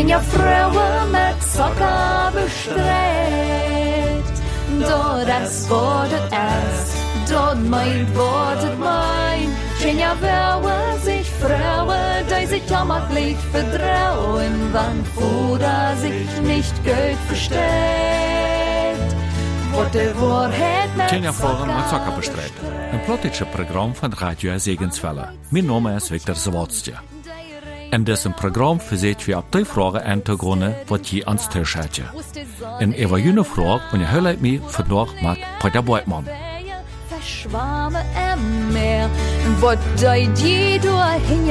Tjenja Fröwe mit Zucker bestreut. Dort es wurde es, dort meint wurde mein. Tjenja Fröwe sich Fröwe, die sich jammerlich vertrauen, wann Fuder sich nicht gut versteht. Tjenja Fröwe mit Zucker bestreut. Een politische Programm van Radio Segensvelle. Mijn naam is Victor Zawodstje. En deze programma verzeet we op die vragen aan te gronden wat je aan het thuis hebt. En over jullie vraag, en je hulp mij vandaag met Peter Beutmann. Verschwammen im Meer, wat deed je doorheen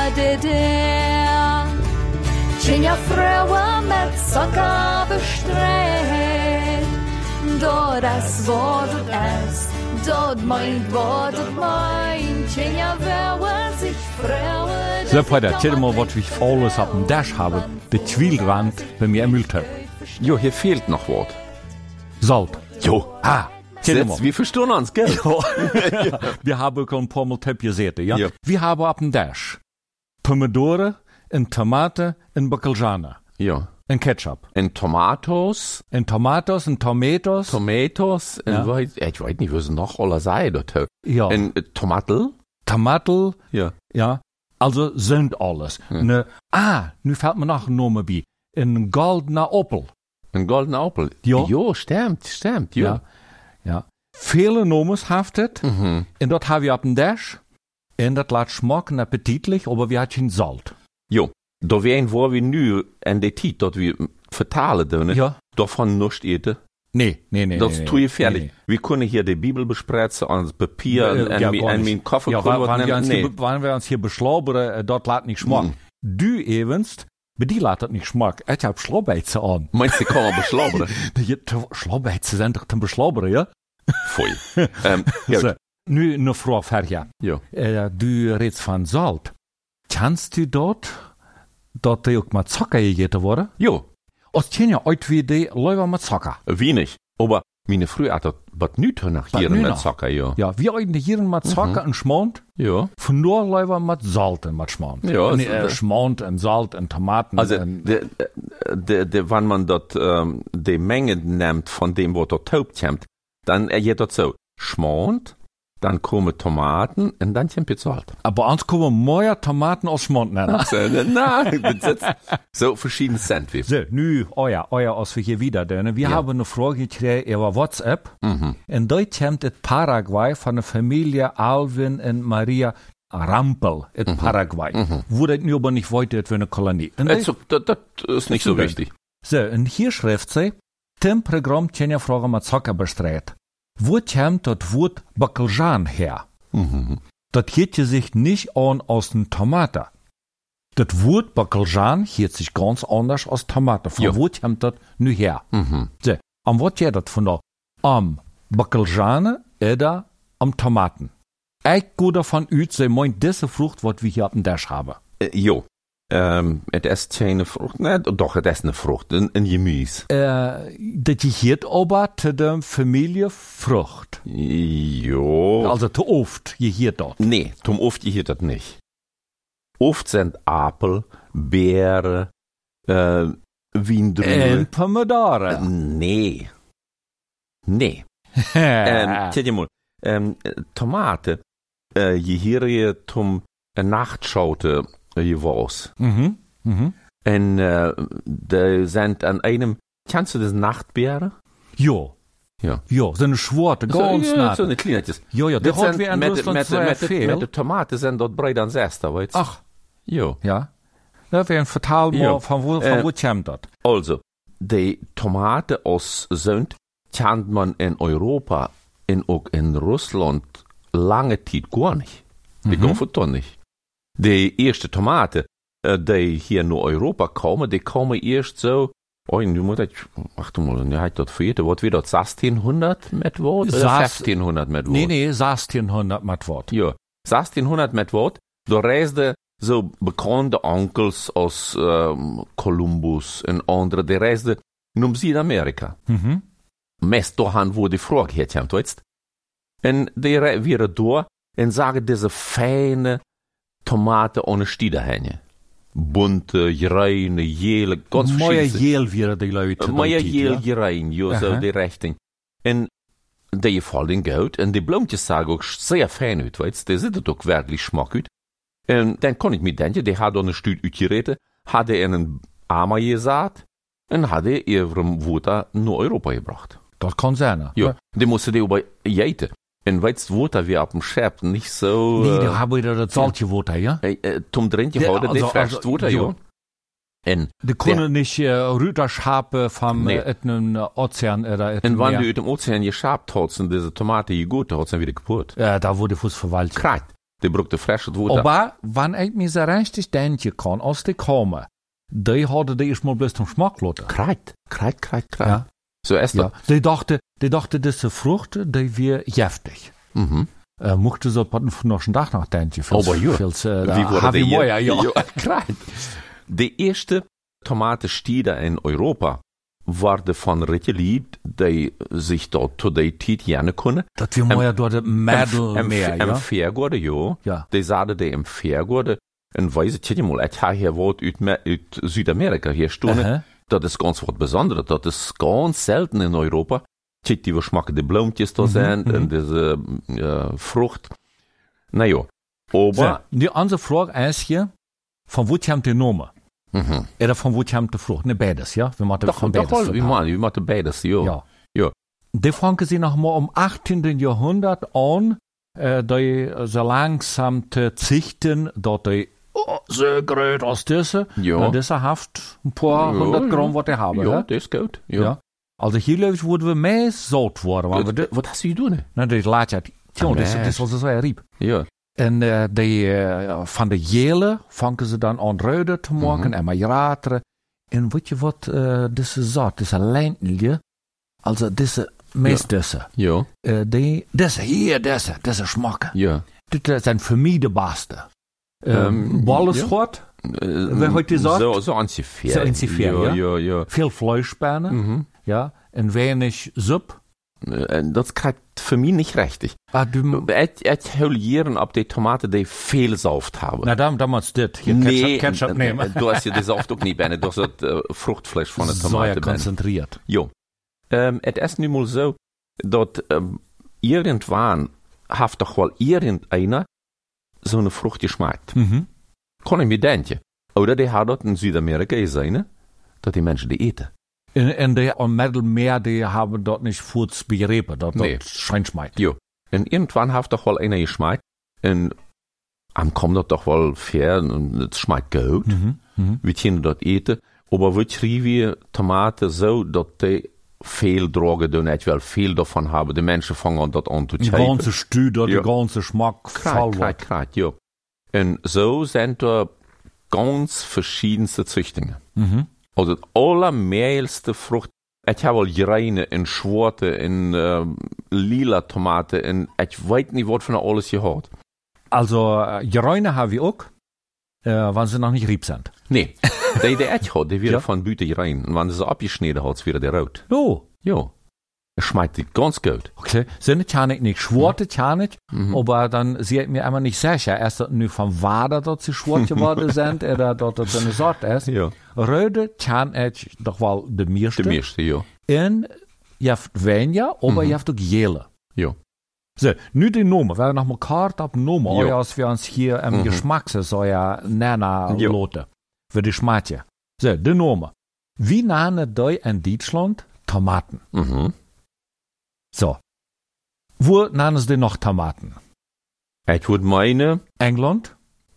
der? Tjenja Fröwe mit Zucker bestreut. Dort es wurde es, dort meint wurde mein. Tjenja Fröwe sich Fröwe. So, Peter, erzähl mal, was ich alles auf dem Dash habe, der Zwiebelrand bei mir im Mülltopf. Jo, hier fehlt noch was. Salt. Jo, Wir verstehen uns, gell? Ja. Wir haben schon ein paar Mal Töpfe gesehen, ja? Ja. Wir haben auf dem Dash Pomidore, en Tomate, en Bacalhau, Ja. en Ketchup, En Tomatos, en Tomatos, en Tomatoes, en ich weiß nicht, was noch alles sei dort. ja, En Tomatel, Tomatel, ja. ja, also sind alles. Nu fällt mir noch ein Name bei. Ein goldener Opel. Een golden Apfel. Ja. Jo, stimmt, jo. Ja. Ja. Viele Nomen haftet. Mhm. Und dort haben wir auf dem Dash. Und das lässt schmecken appetitlich, aber wir haben kein Salt. Jo, da wären wir nu en de tijd dat we vertalen doen, Ja. davon nicht eten. Nee. Das tue ich fertig. Nee. Wir können hier die Bibel besprechen, ans Papier und gar mein nicht. Kaffee Ja, können wann wir uns hier beschlaubern, dort lässt nicht schmecken. Du evenst, bei dir lässt das nicht schmecken. Ich hab Schlaubeitze an. Meinst du, kann man beschlaubern? Schlaubeitze sind doch zum Beschlaubern, ja? Voll. So, nu eine Frage fertig. Ja. Du redest von Salt. Kannst du dort die auch mit Zucker gegessen worden? Jo, Als je ja uit wie die Leute mit Zucker. wenig. Aber meine Früher hat das was nicht nach hier nu mit noch? Zucker, ja. Ja, wir heute hier mit Zucker und Schmand. Ja. Von nur Leute mit Salt und mit Schmand. Ja, Nee, also, Schmand und Salt und Tomaten. Also, und, wenn man dort die Menge nimmt von dem, was dort taubt kommt, dann geht das so. Schmand, dann kommen Tomaten und dann kommt jetzt Salt. aber uns kommen mehr Tomaten als Schmand nennen. Nein, das ist so verschiedene Sandwich. So, nu, euer, als wir hier wieder dönen. Wir haben eine Frage gekriegt über WhatsApp. Und dort kommt das Paraguay von der Familie Alvin und Maria Rampel in Paraguay. Wo das nu aber nicht weiter für eine Kolonie. Und Das ist nicht so wichtig. so, und hier schreibt sie, dem Programm Tjenja Frage mit Zucker bestreut. Wo kommt das Wort Bacalhau her? Das geht sich nicht an aus den Tomaten. Das Wort Bacalhau hört sich ganz anders als Tomate. Von Ja. wo kommt das nu her? So, am was geht das von da? Am Bacalhau oder am Tomaten? Ich gehe davon aus, sie meint diese Frucht, was wir hier auf dem Dash haben. Jo. Het is geen Frucht. Nee, doch, het is eine Frucht. Een Gemüse. Das gehört aber zu der Familie Frucht. Jo. Also zu oft gehört dort. Nee, zum oft hier das nicht. Oft sind Apel, Beeren, Wiendrüben. Und Pomidore. Nee. Zet je mal. Tomaten. Je hier zum Nachtschaute was. En die sind an einem. Kennst du das Nachtbeeren? Ja. Ja. Ja, so eine Schwarte, ganz so, nat. so eine kleinetjes. Ja, Dat hat zijn wir in met Russland sehr viel. de tomaten zijn dat breed aan zesde, weet je? Ach, Jo. ja. Da wäre ein Vertal mal, Ja. von wo kommt das? Also, die Tomaten aus Sünd kennt man in Europa und auch in Russland lange Zeit gar nicht. Die kaufen doch nicht. Die ersten Tomaten, die hier nach Europa kommen, die kommen erst so, nu moet ik, wacht mal, nu heb ik dat vergeten, wat weer dat 1600 met wat? Oder 1500 met wat? Nee, 1600 mit Wort. Ja, 1600 met wat? Da reisden so bekannte Onkels aus Columbus und andere, die reisden naar Südamerika. Meest dahin, wo die Frage herkommt, weißt? Und die wären da und sagen diese feine Tomaten ohne Stiederhänge. bunte, reine, jele, ganz Mooie verschiedene. jeel weer die Leute. Mooie die jeel, ja? rein, ja, so die Richtung. En die vallen goed. En die bloempjes zagen ook sehr fijn uit, weet je. Die zitten ook werkelijk smak uit. En dan kon ik me denken, die hadden een stuur uitgereden, hadden in een Ama gezaad en hadden ihrem Water naar Europa gebracht. Dat kan zijn. Ja, die moesten die aber eten. En weet je, Water weer op dem Schep niet zo... Nee, dan hebben we dat saltje water, ja? Tom drintje houden, die frisst Water, ja. En die kunnen niet Rüterschapen van een oceaan. En wanneer je uit dem Ozean geschabt hast und diese Tomaten gegoten hast, dann wieder kaputt. Ja, da wurde fuß verwaltet. Krijt. Die braucht frische Water. Aber, wanneer ik me zo richtig denken kan, als die komen, die hadden die eerst maar bloß zum Schmack lassen. Krijt. Ja. So ist das. Ja. Die dachten, diese Frucht, die wir giftig. Mochten ze op nog een dag nachdenken. Aber ja. Wie wurde die ja. Krijt. De eerste tomatenstieder in Europa waren van Ritje die zich dort tot die tijd gerne kunnen. Dat we mooi door de Middelmeer, ja? En Vergorde, ja. Die zaten die in Vergorde. En weet je mal, ik heb hier wat uit Zuid-Amerika hier stonden. Dat is ganz wat Besonderes. Dat is ganz selten in Europa. Kijk, die schmacken die bloempjes da zijn en deze Frucht. Nou ja. Aber... Die andere vraag is hier, van wat je hem te noemen? Oder von wo kommt die Frucht? Ne, beides, ja? Wir machen von beides. Wir machen beides, ja. Die fangen sie noch mal im 18. Jahrhundert an, die so langsam zu züchten, dass die so groß aus diese, diese Haft ein paar 100 Gramm, was die haben. Ja, das ist gut. Ja. Also hier wurden wir mehr saut worden. Was hast du getan? Na, das laat ja, das ist also so ein Rieb. Ja. En van de jelen vangen ze dan aan rode te maken en majerateren. En weet je wat, deze zat, deze lijntje, also deze, meest deze. Ja. Deze hier, deze smaken. Ja. Dit zijn voor mij de beste. Ballenschot, wie heeft die zat? Zo ongeveer. Ja. Veel Fleischspäne, ja, en weinig Suppe. Dat krijgt voor mij niet richtig. Ik wil hier op die tomaten die veel saft hebben. Nou, dan moet je dit. Ketchup nemen. Du hast je die saft ook niet binnen. Dat is het vruchtfleisch van de tomaten. Zo geconcentreerd. Ja. Het is nu mal zo, dat irgendwann heeft toch wel irgendeiner zo'n vrucht geschmeckt. Kon ik me denken. Oder die had dat in Zuid-Amerika gezien, dat die mensen die eten. En die am Mittelmeer, die haben dort nicht Furz begriffen, dat scheint schmeckt. Ja. En irgendwann heeft toch wel einer geschmeckt. En am kommt dat toch wel fair, en het schmeckt goed. We kunnen dat eten. Aber we schrijven tomaten zo, dat die veel drogen doen, echt wel veel davon hebben. De mensen vangen dat aan te checken. De ganze Stuur, de ganze Schmack, krijgt, ja. En zo zijn er ganz verschiedenste züchtingen. Also het allermeeste Frucht. Ik heb al reine en zwarte en lila tomaten en ik weet niet wat van alles je had. Also reine hebben we ook, wanneer ze nog niet riep zijn. Nee, die ik had, die werden van buiten rein. En wanneer ze abgeschneden had, werden die rood. Oh. Ja. Es schmeckt ganz gut. Okay, sind kann ich nicht, schwarze kann ich, aber dann sehe ich mir immer nicht sicher, erst nur vom Wader dort sie schwarz geworden sind, oder dort so eine Sorte ist. Ja. Röde kann ich doch wohl de meeste. De meeste, ja. En je hebt weniger, aber je hebt ook jele. Ja. So, nu die Nomen, wir noch mal Karte ab Nomen, ja. Als wir uns hier im Geschmackssäuer nennen loten, für die Schmatje. So, die Nomen. Wie nennen die in Deutschland Tomaten? So. Wo nennen sie noch Tomaten? Ich würde meinen... England.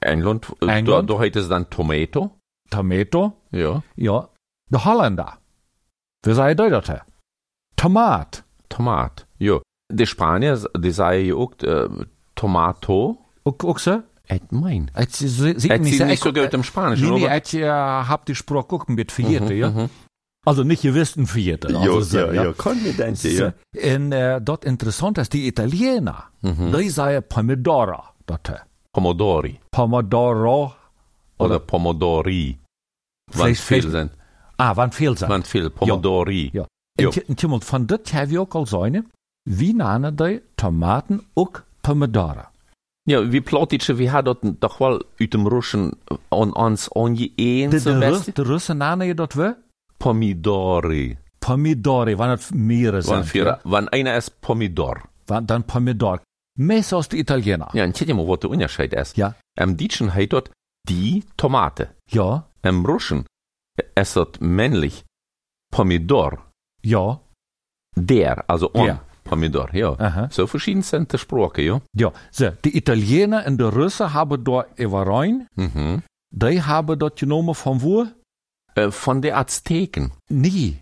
Da heißt es dann Tomato. Tomato? Ja. Ja. De Holländer. Wie sagen die das? Tomat. Ja. Die Spanier, die sagen ja auch Tomato. Auch so? Ich meine. Sie nicht so gut im Spanischen, nee, ich hab die Sprache auch ein bisschen vergessen, ja. Also nicht gewiss ein Vierte. Also ja, kann mir denken, ja. Und dort interessant ist, die Italiener, die sagen Pomodoro. Pomodori. Pomodoro. Oder Pomodori. Wann viel sind. Wann viel sind. Wann viel, Pomodori. Ja. Und von dort haben wir auch al zijn, wie nennen die Tomaten ook Pomodoro? Ja, wie Plotitsche, wie hat dat doch wel uit dem Russen an ons ongeëen De Russen namen je dat we? Pomidori. Pomidori, wanneer het meer is. Wanneer einer is pomidor. Dan pomidor. Meestal als de Italiener. Ja, en kijk je maar wat de onderscheid is. Ja. Im Deutschen heet dat die Tomate. Ja. Im Russen ist dat männlich Pomidor. Ja. Der, also on. Ja. Pomidor, ja. Aha. So verschieden sind die Sprachen, ja. Ja, so, die Italiener en de Russen hebben daar überein. Die hebben dat genomen van wo? Von den Azteken. Nee.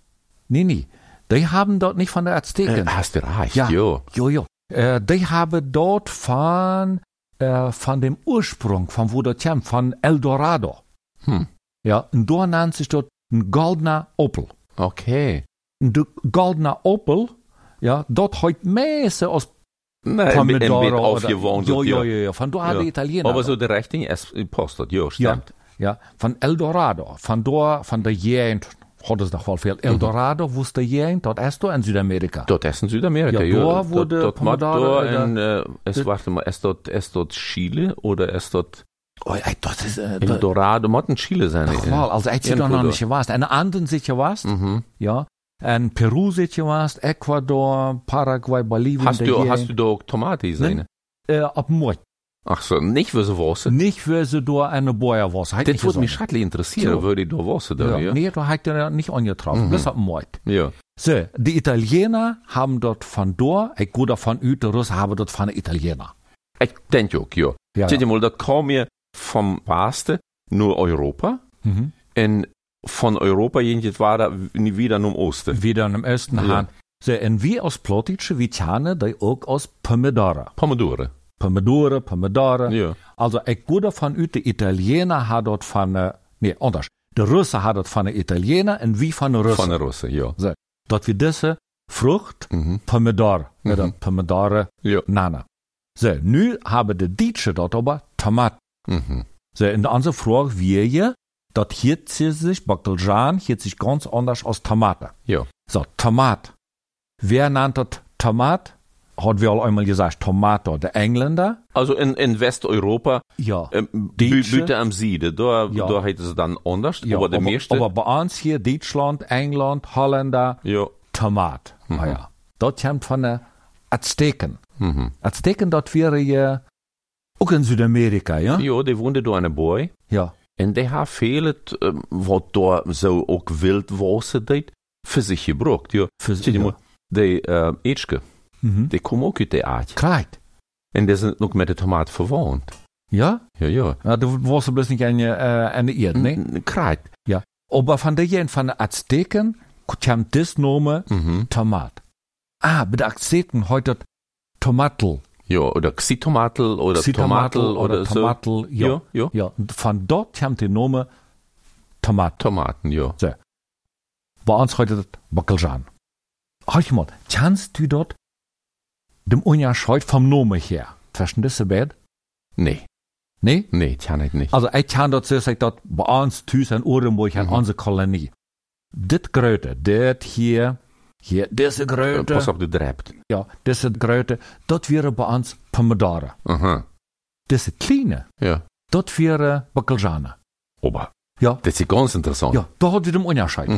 Die haben dort nicht von der Azteken. Hast du recht, ja. Ja. Die haben dort von dem Ursprung, von wo das kommt, von El Dorado. Ja, und da nennt sich dort ein goldener Opel. Okay. Und der goldener Opel, ja, dort heute meeste als Pomidor aufgewohnt. Ja. Von da haben die Italiener. Aber so die Richtung ist postet, ja, stimmt. Ja, von El Dorado, von der Gegend, hat es doch wohl viel. El Dorado, wo ist der Gegend? Dort ist in Südamerika. Dort ist in Südamerika, ja. Da wurde Pomidor warte mal, ist dort Chile oder ist dort das ist El Dorado, muss in Chile sein. Doch mal, also ich doch noch nicht gewusst. In Anden sich gewusst, ja. In Peru sich gewusst, Ecuador, Paraguay, Bolivien. Hast du da auch Tomate gesehen? Ab Mord. Ach so, nicht für so was? Nicht für so da eine Bäuerwasser. Das würde mich schrecklich interessieren, würde ich da was da, ja? Nee, da hat er nicht angetroffen, bis ab Mord. Ja. So, die Italiener haben dort von da, ich gehe davon aus, die Russen haben dort von den Italiener. Ich denke auch, ja. Ja. Mal, das kam ja vom Westen nur Europa, und von Europa jedenfalls war da wieder im Osten. Wieder im Osten, ja. So, und wir aus Plotitsche, wir kennen die auch aus Pomidore. Pomidore. Ja. Also, ich gehe davon aus, die Italiener haben dort anders. Die Russen haben dort von den Italiener und wie von den Russen. Von den Russen, ja. So, dort wir diese Frucht, Pomidore, oder Pomidore, nennen. So, nu haben die Deutschen dort aber Tomaten. So, in der anderen Frage wäre, dort hier sich Bacaljan, hier sich ganz anders als Tomate. Ja. So, Tomat. Wer nennt das Tomat? Hat wir auch einmal gesagt, Tomato, der Engländer. Also in Westeuropa, ja, Büte am Siede, da heißt es dann anders, ja, aber der meiste. Aber bei uns hier, Deutschland, England, Holländer, Tomat. Ja. Dort kommt von den Azteken. Azteken, dort wäre ja auch in Südamerika, ja? Ja, die wohnten da eine Boy. Ja. Und die haben viele, was da so auch Wildwasser deit, für sich gebraucht, ja. Für sich, ja. Die Ätschke. Die kommen auch aus der Art. Klar. Und die sind noch mit der Tomate verwandt. Ja? Ja. Du warst bloß nicht eine Erde, ne? Klar. Ja. Aber von den Azteken kommt das Name Tomat. Bei den Azteken heute Tomatel. Ja, oder Xitomatel oder Tomatel oder Tomatel, so. Ja. Und von dort kommt der Name Tomat. Tomaten, ja. So. Bei uns heute das Bacaljan. Halt mal, kannst du dort dem Unterschied vom Namen her? Verstehst du das? Nee. Nee? Nee, kann ich nicht. Also, ich kann dort sagen, dort bei uns, Tüß in Orenburg, in unsere Kolonie. Das Gröte, das hier, diese Gröte. Pass auf, du drebt. Ja, diese Gröte, das wäre bei uns Pomidore. Diese kleine, das wäre Bacaljan. Aber, ja. Das ist ganz interessant. Ja, da hat wir den Unterschied.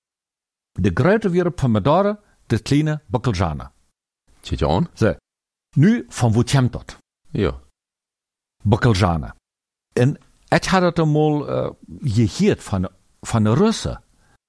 Die Gröte wäre Pomidore, das kleine Bacaljan. Zit je aan? So. Nu, van wo komt dat? Ja. Bacaljan. En ik had het eenmaal gehoord van de Russen.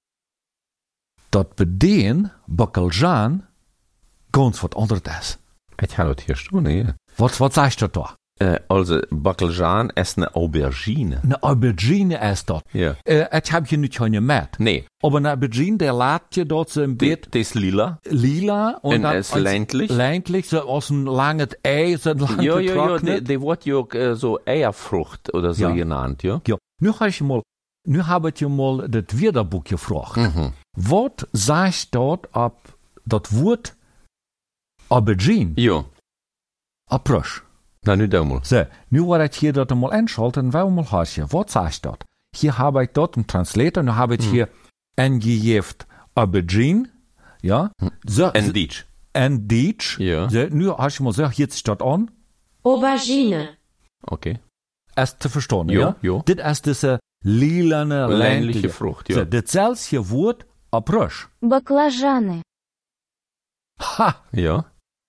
Dat bij den Bacaljan ganz wat anders is. Ik had het hier staan, ja. Wat zegt dat toch? Also, Bacaljan is een aubergine. Een aubergine is dat. Ja. Ik heb je niet gemerkt. Nee. Aber eine Aubergine, der laat je dort so im Beet. Das ist lila. Lila. Und dann ist ländlich. Ländlich, so aus einem langen Ei, so ein langes Ja, die wird ja auch so Eierfrucht oder so genannt, ja. Ja. Nu habe ich mal das Wörterbuch gefragt. Was sagt dort ab das Wort Aubergine? Ja. Approche. Na, nu da mal. So, nu war ich hier dort mal einschalten und mal hören. Was sagt dort? Hier habe ich dort einen Translator, nu habe ich hier eingegeben Aubergine, ja. So, en Deutsch. En Deutsch. Ja. So, nu habe ich mal gesagt, jetzt steht an, Aubergine. Okay. Erst zu verstehen, Jo, ja? jo. Das ist diese lilane, Ländliche Frucht, ja. So, das selbe Wort abrösch. Баклажаны. Ha! Ja.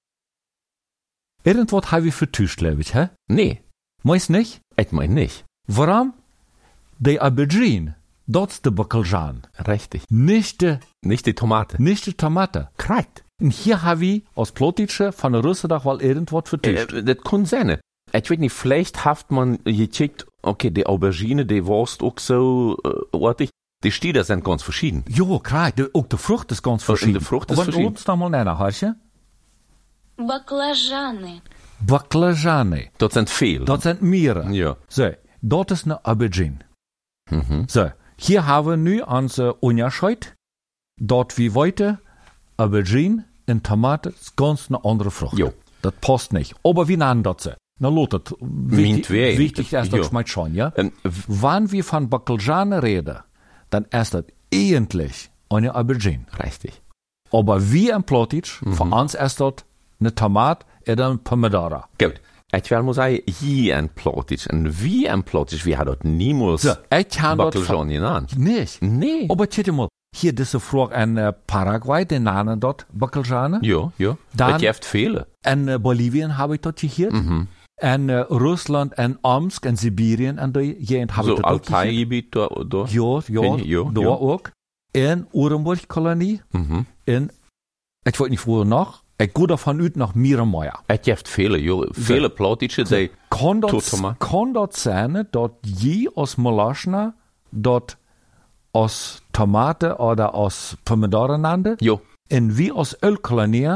Irgendwas habe ich vertuscht, glaube ich, hä? Nee, Meist nicht? ich mein nicht. Warum? Die Aubergine, das ist der Bacaljan. Richtig. Nicht Nicht die Tomate. die Tomate. Korrekt. Und hier habe ich aus Plotitsche von der Russendag wel irgendwas vertuscht. Das kann sein. Ich weiß nicht, vielleicht hat man gecheckt, okay, die Aubergine, die Wurst auch so artig. Die Stieder sind ganz verschieden. Jo, klar, auch die Frucht ist ganz verschieden. Die Frucht ist Aber verschieden. uns noch mal nennen, Harsje? Баклажаны. Baclajane. Das sind viel. Das sind Mieren. Ja. So, das ist eine Aubergine. Mhm. So, hier haben wir nu unsere Unterschied. Dort wie weiter, Aubergine und Tomate ist ganz eine andere Frucht. Jo. Das passt nicht. Aber wie nennen das sie? Na, Lothar, Meinetwegen. wichtig ist, Jo. das schmeckt schon, ja? Ähm, Wenn wir von Bacaljan reden, dann ist das eigentlich eine Aubergine. Richtig. Aber wie ein Plotitsch, für uns ist das eine Tomate oder ein Pomodoro. Gut. Ich will mal sagen, hier ein Plottisch und wie ein Plottisch, wir haben dort niemals So, ich habe das Bacaljan genannt. nicht. Nee. Aber tja mal, hier diese Frucht in Paraguay, den nennen dort Bacaljan. Ja, ja. Dann- Das gibt viele. In Bolivien habe ich das gehört. In Russland, in Omsk, in Sibirien, in der Gegend habe So ich das auch gehört. Altai-Gebiet da. Ja, Ja, da ja. auch. In Urenburg-Kolonie, in, ich weiß nicht wo noch, ich gehe davon aus nach Mierenmeier. Es gibt viele, ja. Viele Plottische, die Kann Totoma. das sein, dort je aus Molaschna, dort aus Tomate oder aus Pomodoro nannte, ja, und wie aus Ölkolonie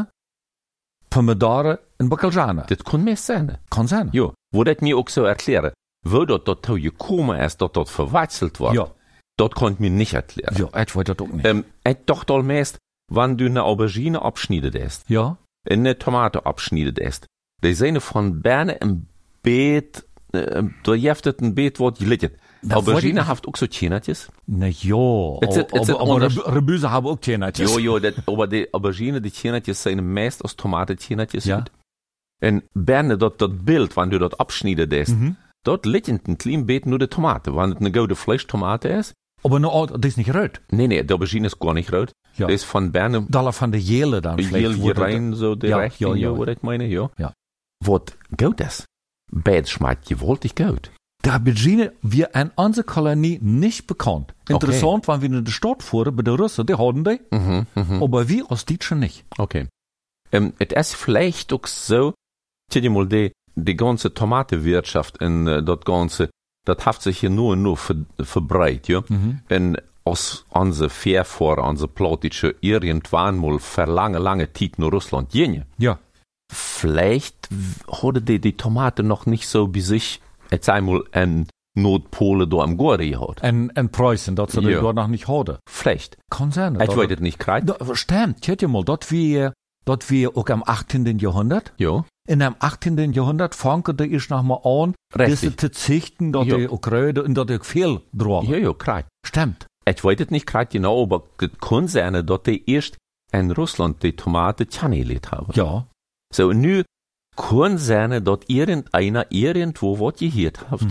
Pomodoro in Bacaljan. das kann mir sein. Kann sein. Ja, wo das mir auch so erklären, wo dort gekommen ist, dass dort verwechselt war, Ja, das konnte mir nicht erklären. ja, ich weiß das auch nicht. Ich dachte allmeist, wenn du eine Aubergine abschneidest isst, Ja, eine Tomate abschneidest isst, die sind von Berne im Beet, da jeftet ein Beet, wo die liegt. Da Aubergine wollte hat auch so Tschinatjes. na ja, It's aber anders. Rebüse haben auch Tjenatjes. Jo, aber die Aubergine, die Tschinatjes sind meist aus Tomate-Tschinatjes. Ja. Und Berne, das Bild, wenn du dort abschneidest isst, dort liegt in ein kleines Beet nur die Tomate. Wenn es eine gute Fleischtomate ist, Aber no, das ist nicht rot. nee, die Aubergine ist gar nicht rot. Ja. Das ist von Berne Dollar von der Jele dann vielleicht. hier wo das- rein, so direkt, ja, ja, was ich meine, ja. Ja. Was gut ist, Bad schmeckt gewaltig gut. Die Aubergine wir in unserer Kolonie nicht bekannt. Interessant, wenn wir in der Stadt fuhren, bei den Russen, die haben die, aber wir aus Deutschen nicht. Okay. Es ist vielleicht auch so, tja, die mal die ganze Tomatenwirtschaft in das Ganze, das hat sich hier nur verbreitet, ja. Und aus unsere Verfahrer, unsere Plottische, irgendwann mal für lange Zeit nach Russland gehen. Ja. Vielleicht hatte die Tomate noch nicht so bei sich, jetzt einmal in Nordpole da am Gore gehabt. In Preußen, das sie Ja. dort noch nicht hatten. Vielleicht. Kann sein. Ich weiß es nicht gerade. Stimmt, tja mal, dort wir auch am 18. Jahrhundert. Ja. In dem 18. Jahrhundert fangte ich noch mal an, Richtig. diese zu züchten, dort Ja. die auch Röde und dort die viel drogen. Ja, gerade. Stimmt. Ich weiß es nicht gerade genau, aber es kann sein, dass die erst in Russland die Tomate tjannelet haben. Ja. So, nu kann sein, dass irgendeiner irgendwo was gehört hat.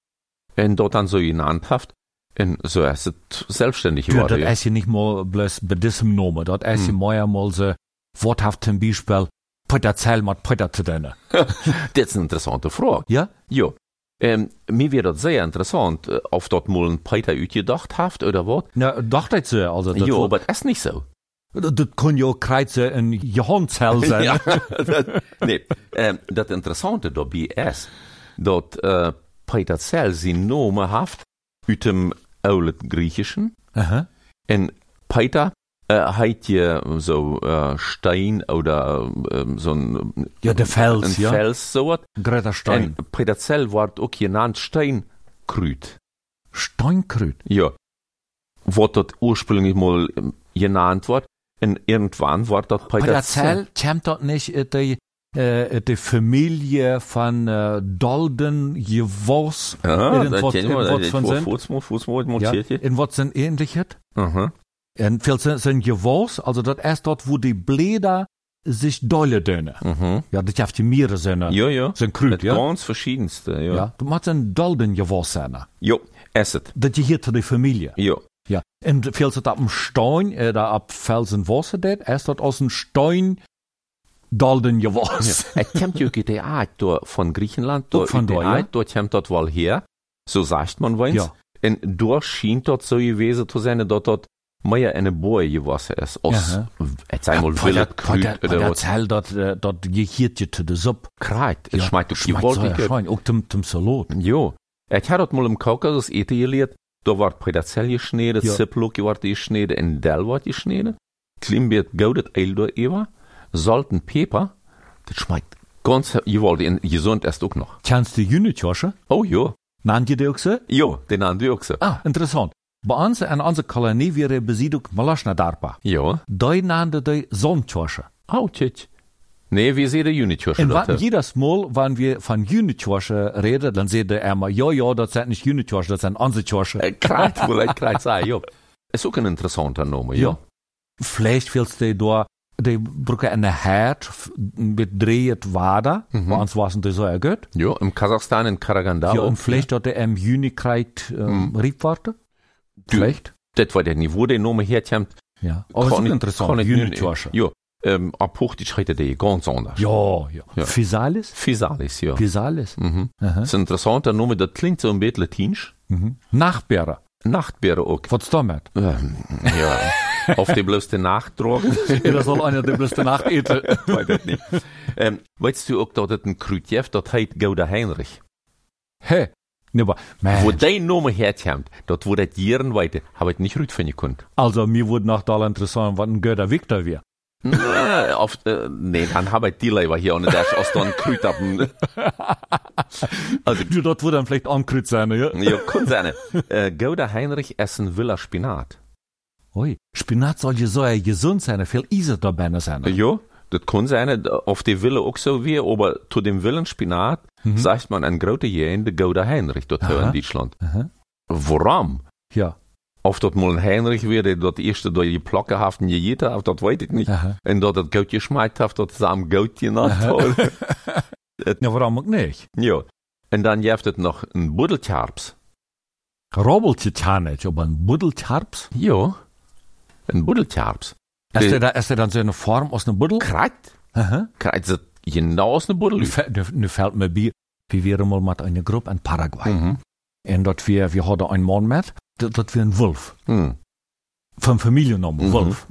Und dort dann so genannt hat. Und so ist es selbstständig Ja, geworden. das ist ja nicht mal bloß bei diesem Namen. Das ist ja mehr mal so, worthaft zum Beispiel, Peter Zell mit Peter zu tun. Das ist eine interessante Frage. Ja? Ja. Mir wird das sehr interessant, ob dort mal ein Peter utgedacht hat oder was. Na, dachte ich so. Also, das Ja, war- aber das ist nicht so. das kann ja auch Kreuze in Johann-Zell sein. Ja, nee, das Interessante dabei ist, dass Peter Zell seinen Namen hat aus dem alten Griechischen. Aha. Und Peter hat ja so Stein oder so ein, Ja, der Fels, ein ja. Fels, so was. Greta Stein. Und Peter Zell wird auch genannt Steinkrüt. Steinkrüt. Ja. Was dort ursprünglich mal genannt wird. Und irgendwann wird dort Peter Zell kommt dort nicht die Familie von Dolden, Jevos, Ja, irgendwas von sind. Fußmal Ja, montiert hier. in was sind ähnliches. Aha. Und viel sind Jevos, also das ist dort, wo die Blätter sich dolle dünne. Ja, das hat die Meere sind. Ja. Sind Krüt, ja. Ganz verschiedenste, ja. Ja, du machst ein dolden Gewass sein. Ja, esset. Das gehört zu der Familie. Ja. Ja. Und fällt es ab dem Stein, da ab Felsenwasser, das erst dort aus dem Stein dolden Gewass. Ja. Kommt ja die Art von Griechenland, von da, ja. Dort kommt dort wohl her, so sagt man weins. Ja. Und dort schien dort so gewesen zu sein, dass dort mehr eine Boe gewesen ist. Aus, jetzt einmal willet Krüt oder was. Erzähl, dort gehört je zu der Suppe. Kreit, es schmeckt doch Schmeckt so ja schön, auch zum Salat. Jo, ich habe dort mal im Kaukasus eten gelehrt, da war Predazell geschnitten, Ziplock war geschnitten, in Del war geschnitten, Klimbeert goudet Eil da über, Salz und Pfeffer, das schmeckt ganz, gesund erst auch noch. Kennst du Jünitjosche? Oh ja. Nannt ihr die auch so? Ja, den nannt ihr auch so. Ah, interessant. Bei uns in unserer Kolonie wäre besiedelt Malaschna Darpa. Ja. Da nannte die Sonnenjosche. Oh, tschitsch. Nee, wir sehen die Jünitjosche. Und jedes Mal, wenn wir von Jünitjosche reden, dann sagt er immer, ja, das sind nicht Jünitjosche, das sind unsere Josche. Kreit, ja. Ist auch ein interessanter Name, ja. Vielleicht willst du da, die brauchen eine Herd mit dreht Wader, bei uns war es nicht so gut. Ja, im Kasachstan, in Karaganda. Ja, und vielleicht dort der im Juni kriegt Riebwarte. Vielleicht. Das war der Niveau, der Name herkommt. Ja, aber das ist interessant, Jünitjosche. Ja. Ab Hochdeutsch heißt der ganz anders. Ja. Physalis? Physalis, ja. Physalis. Das ist ein interessanter Name, das klingt so ein bisschen latinisch. Nachtbeere. Nachtbeere auch. Was ist damit? Ja, auf die bloße Nacht tragen. Ja, das soll einer die bloße Nacht eten. Weiß ich nicht. Weißt du auch, dass das ein Krüt gibt, das heißt Gouda Heinrich? Hä? Nee, aber, wo dein Name herkommt, dort wo das Jahren weiter, habe ich nicht gut finden können. Also, mir wurde noch da interessant, was ein Gouda Victor wäre. Nee, dann habe ich die Leiber hier und der ist aus dann Krüt ab. Also, du, dort würde dann vielleicht ankrüt sein, ja? Ja, kann sein. Gouda Heinrich essen Villa Spinat. Ui, Spinat soll ja so gesund sein, viel Eisen dabei sein. Ja, das kann sein, auf die Wille auch so wie, aber zu dem Willen Spinat, sagt man ein großer Jähn, der Gouda Heinrich, dort in Deutschland. Warum? Ja. Auf dort mal ein Heinrich wäre, dort erste durch die Plocke haften gejäht hat, dort weiß ich nicht. Und dort das Gout geschmeckt hat, dort ist am Gout genannt. Ja, warum auch nicht? Ja. Und dann gibt es noch ein Buddeltjarps. Robbeltje aber ein Buddeltjarps? Ja. Ein Buddeltjarps. Ist der dann so eine Form aus einem Buddel? Kreit. Kreit ist genau aus einem Buddel. Nu fällt mir bei, wir waren mal mit einer Gruppe in Paraguay. Und dort wir hatten einen Mann mit, dort wir ein Wolf. Von Familiennamen, Wolf.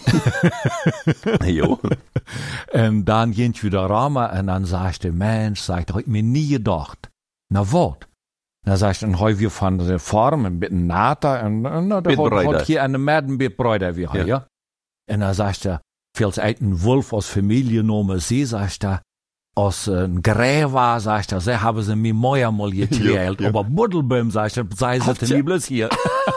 Jo. Und dann gehen wir da ramen und dann sagt der Mensch, hab ich mir nie gedacht. Na, was? Dann sagt dann heu wir von der Form ein bisschen Nata und da hat hier eine Mädenbeetbräuter wie hier, ja. Und dann sagt er, falls ein Wolf aus Familiennamen sie, sagt er, aus ein Gräber, sagt er, sie haben sie mir Mäuer mal geteilt, aber Buddelbäum, sagt er, sei sie nie bloß hier.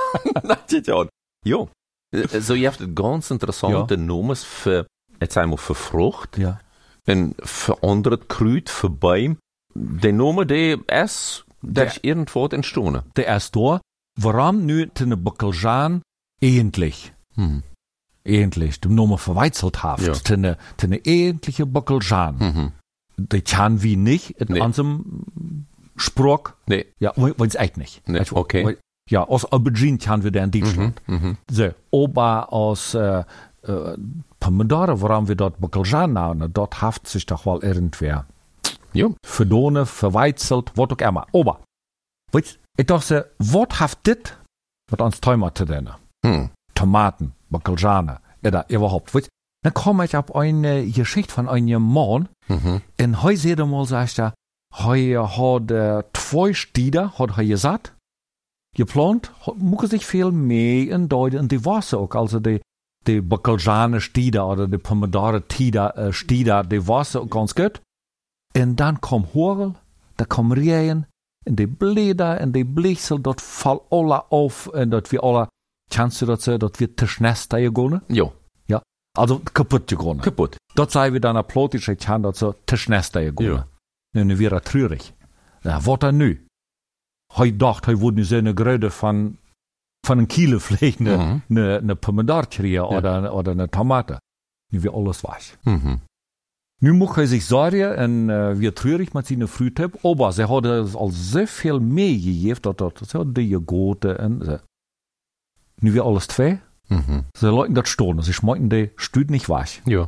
Jo. So, ihr habt ganz interessante Namen für, jetzt einmal für Frucht. Ja. Und für andere Krüt, für Bäume. Der Name, der ist irgendwo entstanden. Der ist da. Warum nu tene Bockeljan eigentlich? Eigentlich, dem Name verweizelt haft. Ja. Tene eigentliche Bockeljan. Die kann wie nicht in unserem Spruch. Nee. Ja, weil's echt nicht. Nee. Okay. Ja, aus Aubergine kann wir da in Deutschland. So, aber aus Pomodoro, warum wir dort Bockeljan nennen, dort haft sich doch wohl irgendwer. Ja. Verdone, verweizelt, was auch immer. Aber, weißt, ich dachte, was haft dit, was uns Tomaten denn? Tomaten, Bockeljan, oder überhaupt, weißt, dann komme ich auf eine Geschichte von einem Mann, und heute seht ihr mal, sagt er, heute hat 2 Stieder, hat er gesagt, geplant, muss sich viel mehr in die Wasser auch, also die Bockeljan Stieder oder die Pomodoro Stieder, die Wasser auch ganz gut. Und dann kommt Hagel, da kommt Regen, und die Blätter, und die Blichsel, dort fallen alle auf, und dort wir alle, kannst du das sagen, dort wird Tischnester gegangen? Ja. Ja. Also kaputt gegangen. Kaputt. Dort sei wir dann applaudische, ich kann dort so Tischnester gegangen. Ja. Und dann wäre er traurig. Ja, was dann nu? Hij dacht, hij würde so eine Gröde von einem Kilo vielleicht eine Pomodoro kriegen oder eine Tomate. Nu wir alles weich. Nu muss er sich sorgen en wir treurig mit seiner Frühtyp, aber sie hat al so viel mehr gegeben, dat so die Joghurte en so. Nu wir alles zwei. Sie leuten das stehen, sie schmecken die Stüd nicht weich. Ja.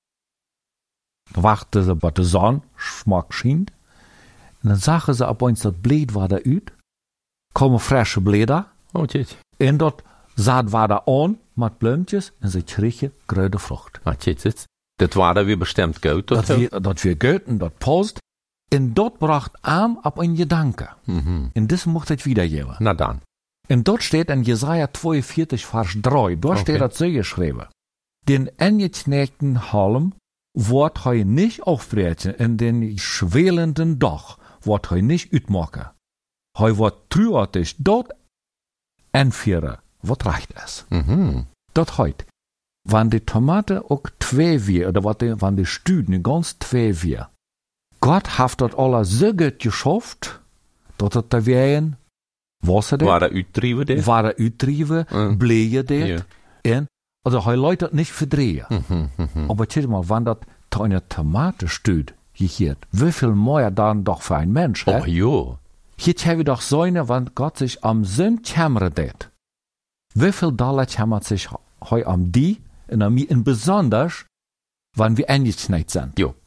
Dann warten sie, bis der Sonne schmack schien. Und dann sagen sie, ab uns das Blät war da ut, kommen frische Blätter. Oh, tjit. Und dort Saat war da an, mit Blümtjes, und sie kriegen grüne Frucht. Ah, tjit. Das war da wie bestimmt gut. Dat wir gut und dat passt. Und dort bracht Arm ab ein Gedanke. Und das muss ich wiedergeben. Na dann. Und dort steht in Jesaja 42, Vers 3, dort steht das so geschrieben. Den angeknäckten Halm wird he nicht aufbrechen, in den schwelenden Dach wird he nicht utmachen. He wird trüartig dort entführen, was reicht es. Dort heut. Wann die Tomate auch zwei wir, oder wann die Stüden ganz zwei wir. Gott hat dort alle so gut geschafft, dass da wären Wasser war er uitdrieven dit? War er uitdrieven, bleeën dit. En, also hij Leute nicht verdrehen. Aber tja mal, wenn das zu einer Tomate steht, hier, wie viel mehr dann doch für ein Mensch, Oh, jo. Hier haben wir doch so eine, wenn Gott sich am Sinn kämmern det. Wie viel Dollar kämmert sich heu am die, und am mir, und besonders, wenn wir angeknallt sind. Jo.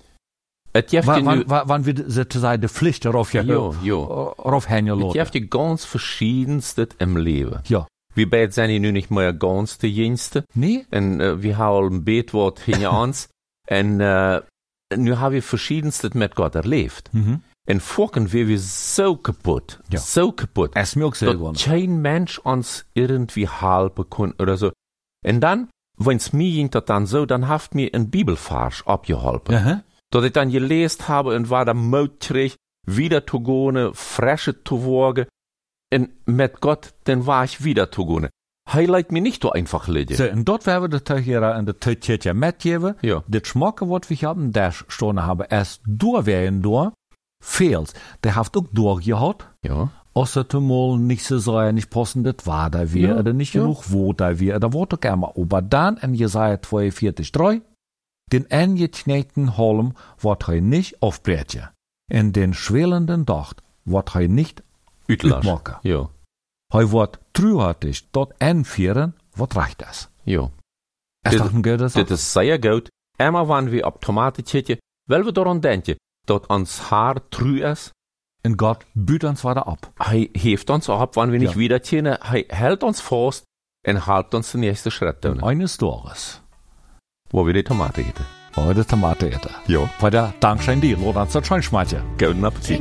Wann wir sozusagen die Pflicht darauf hängen lassen. Je hebt die ganz verschiedenste im Leben. Ja. Wir beide sind nu nicht mehr ganz die jüngste. Nee. Und wir haben ein Beetwort hinter uns. Und nu haben wir verschiedenste mit Gott erlebt. Und vorhin wären wir so kaputt. Ja. So kaputt. Es mir auch selber. Dass kein Mensch uns irgendwie helfen kann oder so. Und dann, wenn's mir ging das dann so, dann haft mir ein Bibelvers abgeholfen. Dass ich dann gelesen habe und war da Mut krieg, wieder zu gehen, frische zu worgen. Und mit Gott, dann war ich wieder zu gehen. Highlight mir nicht so einfach liegen. So, und dort werden wir das hier in der Tütje mitgeben. Ja. Das Schmacken, was wir haben, der Stunde haben, erst durchwählen durch, fehlt. Der hat auch durchgehaut. Ja. Außer mal nicht so sein, nicht passen, das war da wir, oder nicht genug, wo da wir, da wurde gerne. Aber dann in Jesaja 42, 3, den angeknähten Halm wird er nicht aufbrechen. In den schwelenden Dach wird er nicht utmachen. Ja. Er wird treuhartig dort entführen, was reicht das? Ja. Ist doch ein guter Sache. Das ist sehr gut. Immer wenn wir auf Tomaten zitten, weil wir daran denken, dass uns Haar treu ist. Und Gott büht uns weiter ab. Er hilft uns ab, wenn wir nicht wieder ziehen. Er hält uns fest und hält uns den nächsten Schritt tun. Eines Tages, wo wir die Tomate eten. Wo wir die Tomate eten. Ja. Weil der Dankeschön dir, oder das schon schmecken. Guten Appetit.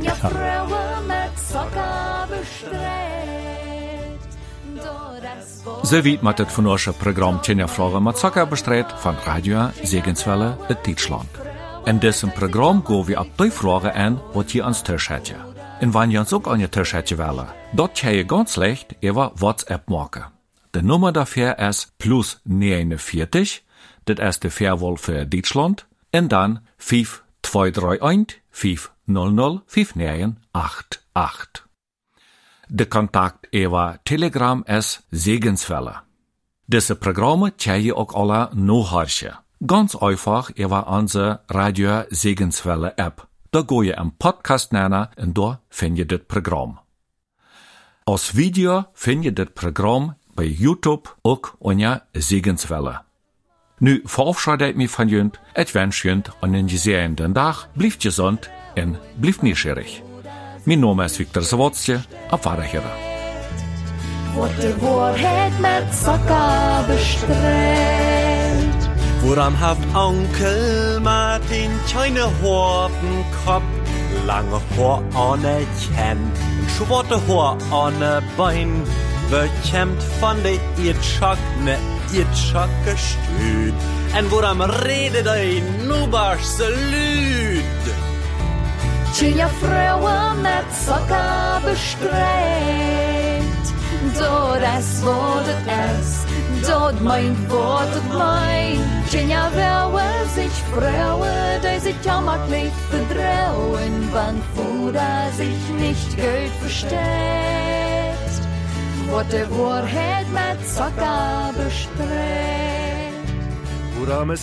So wie mit das von unserem Programm Tjenja Fragen mit Zucker bestreut von Radio Segenswelle in Deutschland. In diesem Programm gehen wir auf die Fragen an, was ihr ans Tisch hättet. Und wenn ihr uns auch an den Tisch hättet wollen, dort könnt ihr ganz leicht über WhatsApp machen. Die Nummer dafür ist +49, das ist die Fairwahl für Deutschland, und dann 5231 500 5988. Der Kontakt über Telegram ist Segenswelle. Diese Programme könnt ihr auch alle nachhören. Ganz einfach über unsere Radio Segenswelle App. Da geht ihr im Podcast nennen und da findet ihr das Programm. Als Video findet ihr das Programm bei YouTube auch unter Segenswelle. Nu verabschiede ich mich von jünd. Ich wünsche jünd einen gesegneten Tag. Bleibt gesund und bleibt neugierig. Mein Name ist Viktor Zawadzki. Auf Wiederhören. Wordt de waarheid met Zucker bestreelt. Woran haft Onkel Martin keine Hortenkopf, lange Haar ohne Kämm, schwarze Haar ohne Bein, bekämmt von der Irrschock gestüt. En woran redet ei nubarse Lüd? Tjenja Frauen met Zucker bestreelt. Dort es wordt es, dort meint wordt mein. Tjenja Frauen sich Frauen, die sich jammerlich verdrehen, wann Fuder sich nicht gut versteht. Wordt de Wahrheit met Zucker bestreelt. Worames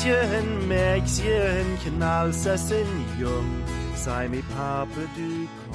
Lieschen, Mägchen, Knallsessen jung, sei mi Pape du